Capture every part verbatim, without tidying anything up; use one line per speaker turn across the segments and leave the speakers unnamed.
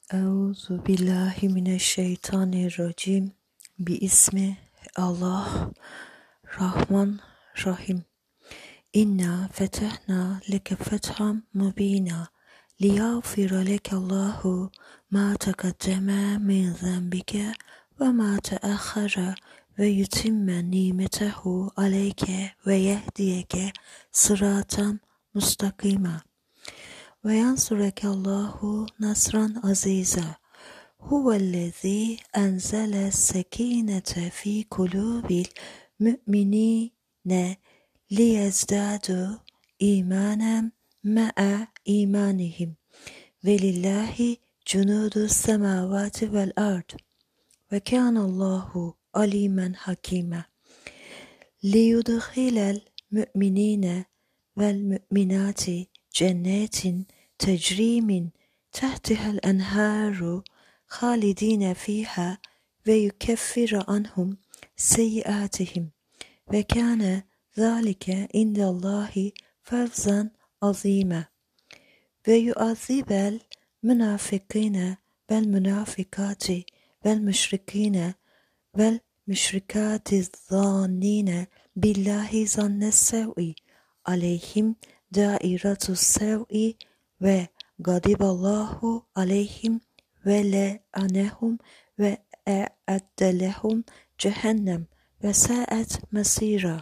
Euzu billahi mineşşeytanirracim. Bismi Allah Rahman Rahim. İnna fetehna leke fetham mubina liyağfira lekallahu ma tekaddeme min zenbike ve ma teahhara ve yutimme nimetehu aleyke ve yehdiyeke sıraten mustakima. Ve yansurekallahu nasran aziza. Huvellezî enzele sekinete fî kulûbil mü'minîne liyezdâdû îmânen me'a îmânihim. Velillahi cunûdus semâvâti vel ard. Ve kânallâhu alîmen hakîmen. Liyudkhilel mü'minîne vel mü'minâti cennetin tecri min tahtihal enharu halidine fiha ve yukeffira anhum seyyiatihim ve kâne zâlike indallahi fevzan azîme ve yuazibel münafıkîne vel münafikâti vel müşrikîne vel müşrikâti zannîne billahi zannes sev'i aleyhim dâiratus sev'i ve gadiballahu aleyhim ve le'anehum ve e'adde lehum cehennem ve sa'et mesira.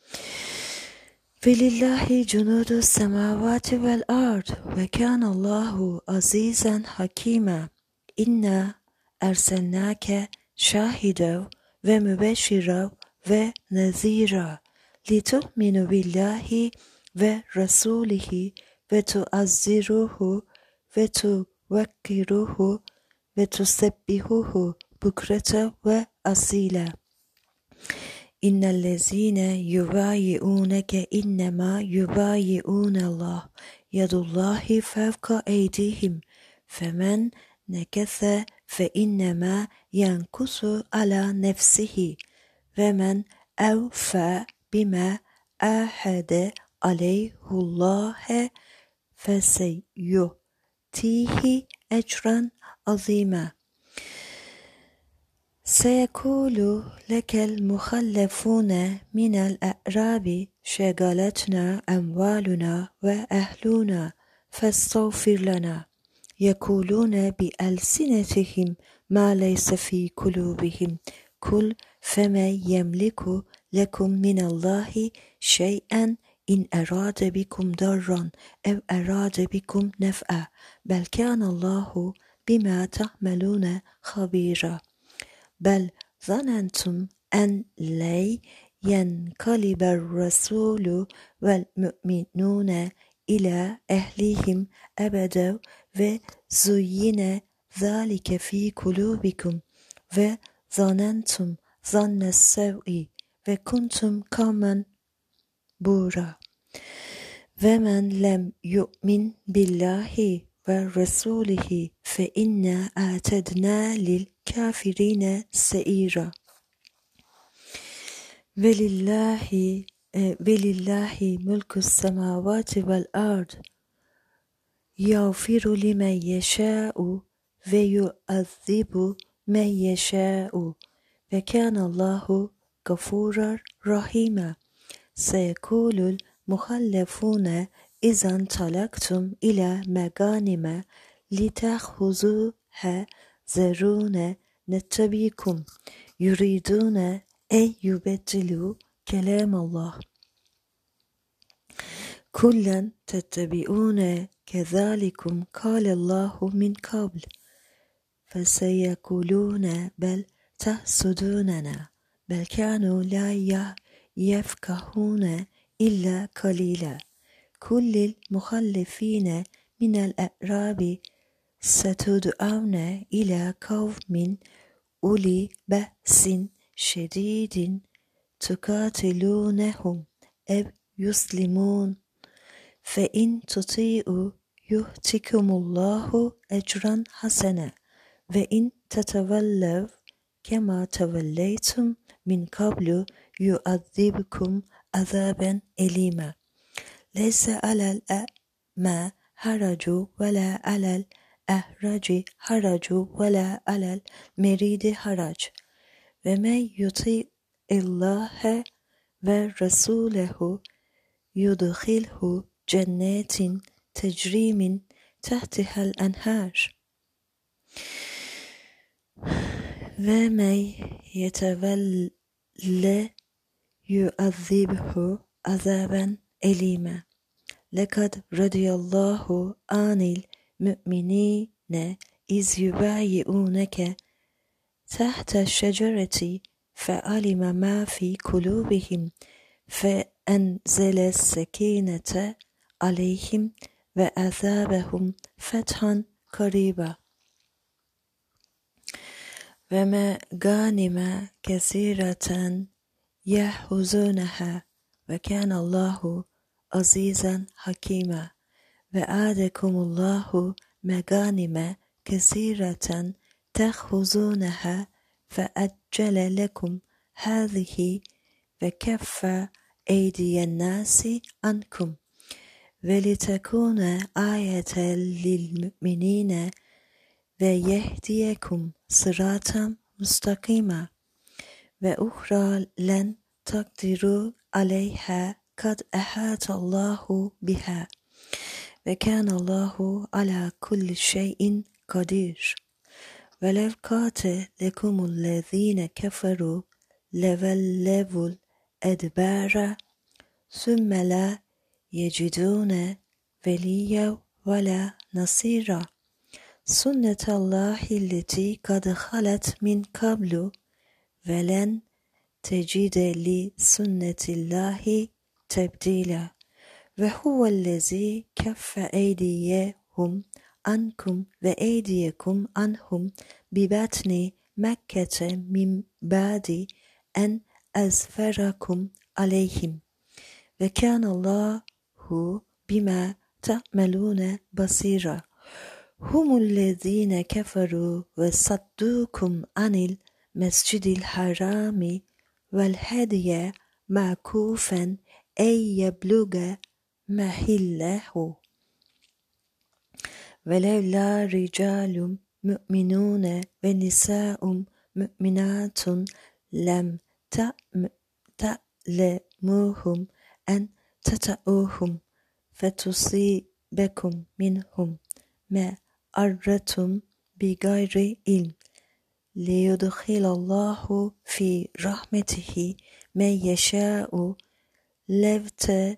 Velillahi cunudus semavati vel ard ve kânallahu azizen hakîmen. İnna erselnâke şahidev ve mübeşşirev ve nezîra litu'minu billahi ve rasulihi ve tuazziruhu ve tuvekkiruhu ve tusebbihuhu bukrete ve asile. İnnellezîne yubayi'ûneke innemâ yubayi'ûnallah yadullahi fevka eydihim femen nekese fe innemâ yenkusu ala nefsihi ve men evfe bime ahede aleyhullâhe feseyyutihi ecran azîme. Seyekulu lekel muhallefune minel e'rabi şegaletna emvaluna ve ehluna festağfir lana. Yekulune bi elsinetihim ma leyse fi kulubihim. Kul feme yemliku lekum minallahi şey'en in erade bikum darran ev erade bikum nef'a bel kânallahu bima ta'melûne habîra. Bel zanentum en ley yenkaliber rasûlü vel mü'minûne ila ehlihim ebedev ve zuyyine zâlike fî kulûbikum ve zanentum zannes sev'i ve kuntum kavmen bura. Ve men lem yu'min billahi ve rasulihi fe inna a'tedna lil kafirine seira. Velillahi e, velillahi mulkus semavati vel ard. Yağfiru limen yeşâ'u ve yuazzibu men yeşâ'u ve kânallahu gafurar rahîme. Seyekulul muhallefune izan talaktum ila meganime litahhuzuha zerune nettebikum yuridune ey yubeddilu kelamallah. Kullen tettebiune kezalikum kâlallahu min kabl feseyekulune bel tahsudunena bel kânû la ya yefkahune illa kalila. Kullil muhallefine minel e'rabi setud'avne ila kavmin uli be'sin şedidin tukatilunehum ev yuslimun fe in tuti'u yuhtikumullahu ecran hasene ve in tetevellev kema tevelleytum min kablu yu'azzibkum azaben elime. Leyse alel e'ma haracu ve la alel ehraci haracu ve la alel meridi harac. Ve men yuti illâhe ve rasûlehu yudkhilhu cennetin tecri min tahtiha'l enhar. Ve men yetevelle yu'azzibhu azaben elime. Lekad radiyallahu anil mü'minine iz yubayi'uneke tahta şecereti fe'alime ma fi kulubihim fe'enzele sekinete aleyhim ve azabehum fethan kariba. Ve meganime kesireten yahhuzuneha ve kânallahu azizan hakima. Ve âdekumullahu meganime kesireten tehhuzuneha fe'accele lekum hâzihi ve keffe eydiyen nâsi ankum. Ve litekûne âyeten lil mü'minîne ve yehdiyekum sıratam mustakima. Ve uhra len takdiru aleyha kad ehatallahu biha. Ve kânallahu ala kulli şeyin kadir. Ve lev kâte lekumullezîne keferu levellevul edbâra sümme la yecidûne veliyyev ve la nasîra. Sünnetallâhilleti kad halet min kablu ve len tecide li sünnetillahi tebdila. Ve huvellezî keffe eydiyehum ankum ve eydiyekum anhum bibatni Mekke'te min ba'di en ezferakum aleyhim. Ve kânallâhu bima ta'melûne basîra. Humullezîne keferû ve saddukum anil mescidil harami vel hediye ma'kufen ey yebluge mahillehu. Ve levlâ ricalum mü'minûne ve nisâum mü'minâtun lem ta'lemuhum en teta'uhum fetusibekum minhum me'arretum bi gayri ilm liyudkhilallahu fi rahmetihi men yeşâ'u levte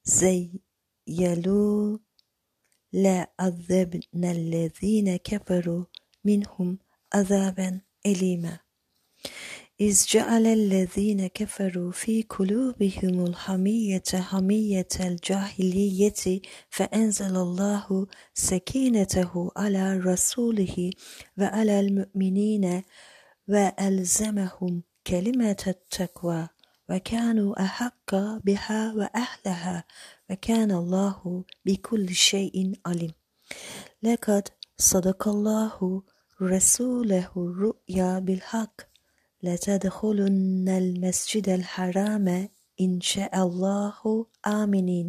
zeyyelû la azebnellezîne keferu minhum azaben elîme. İz cealellezîne keferu fî kulûbihimul hamiyyete hamiyyetel cahiliyyeti feenzelallahu sekînetehu ala rasûlihi ve alel mü'minîne ve elzemehum kelimetet tekvâ ve kânû ehakka biha ve ehleha ve kânallahu bikulli şeyin alim. Lekad sadakallahu resûlehu ru'ya bilhak letedhulunnel mescidel harame inşeallahu aminin.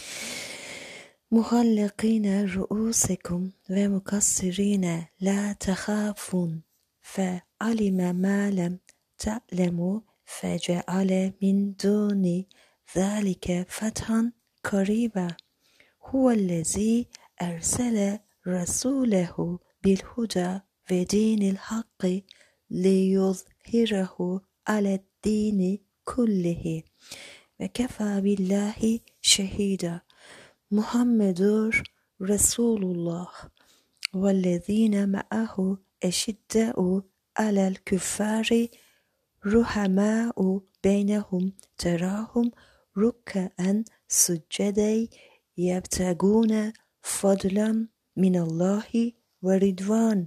Muhallikine ru'usikum ve mukassirine la tehafun fe alime ma lem ta'lemu feceale min duni zâlike fethan kariba. Huvellezî ersele rasûlehu bilhuda ve dinil hakkı liyuzhirehu aleddini kullihi ve kefâ billahi şehîda. Muhammedur Resulullah vellezîne ma'ahu eşiddâ'u alel küffâri ruhamâ'u beynehum terahum rukkaen succedey yebtegûne fadlan minallahi ve ridvan.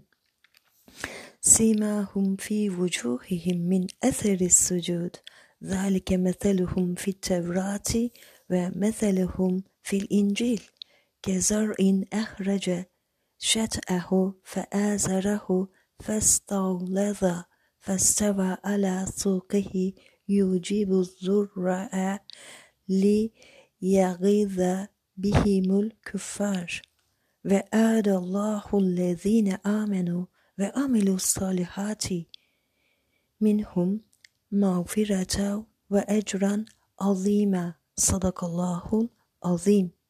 Simahum fi vucuhihim min etheris sucud. Zalike meseluhum fit tevrati ve meseluhum fil incil. Kezar'in ehrece şet'ehu feazarahu festağleza festeva ala suqihi yucibu zurra'a li yagiza bihimul küffar. ve âdallâhu'llezîne âmenû ve amilussâlihâti minhum mağfireten ve ecran azîmâ. Sadakallahul azîm.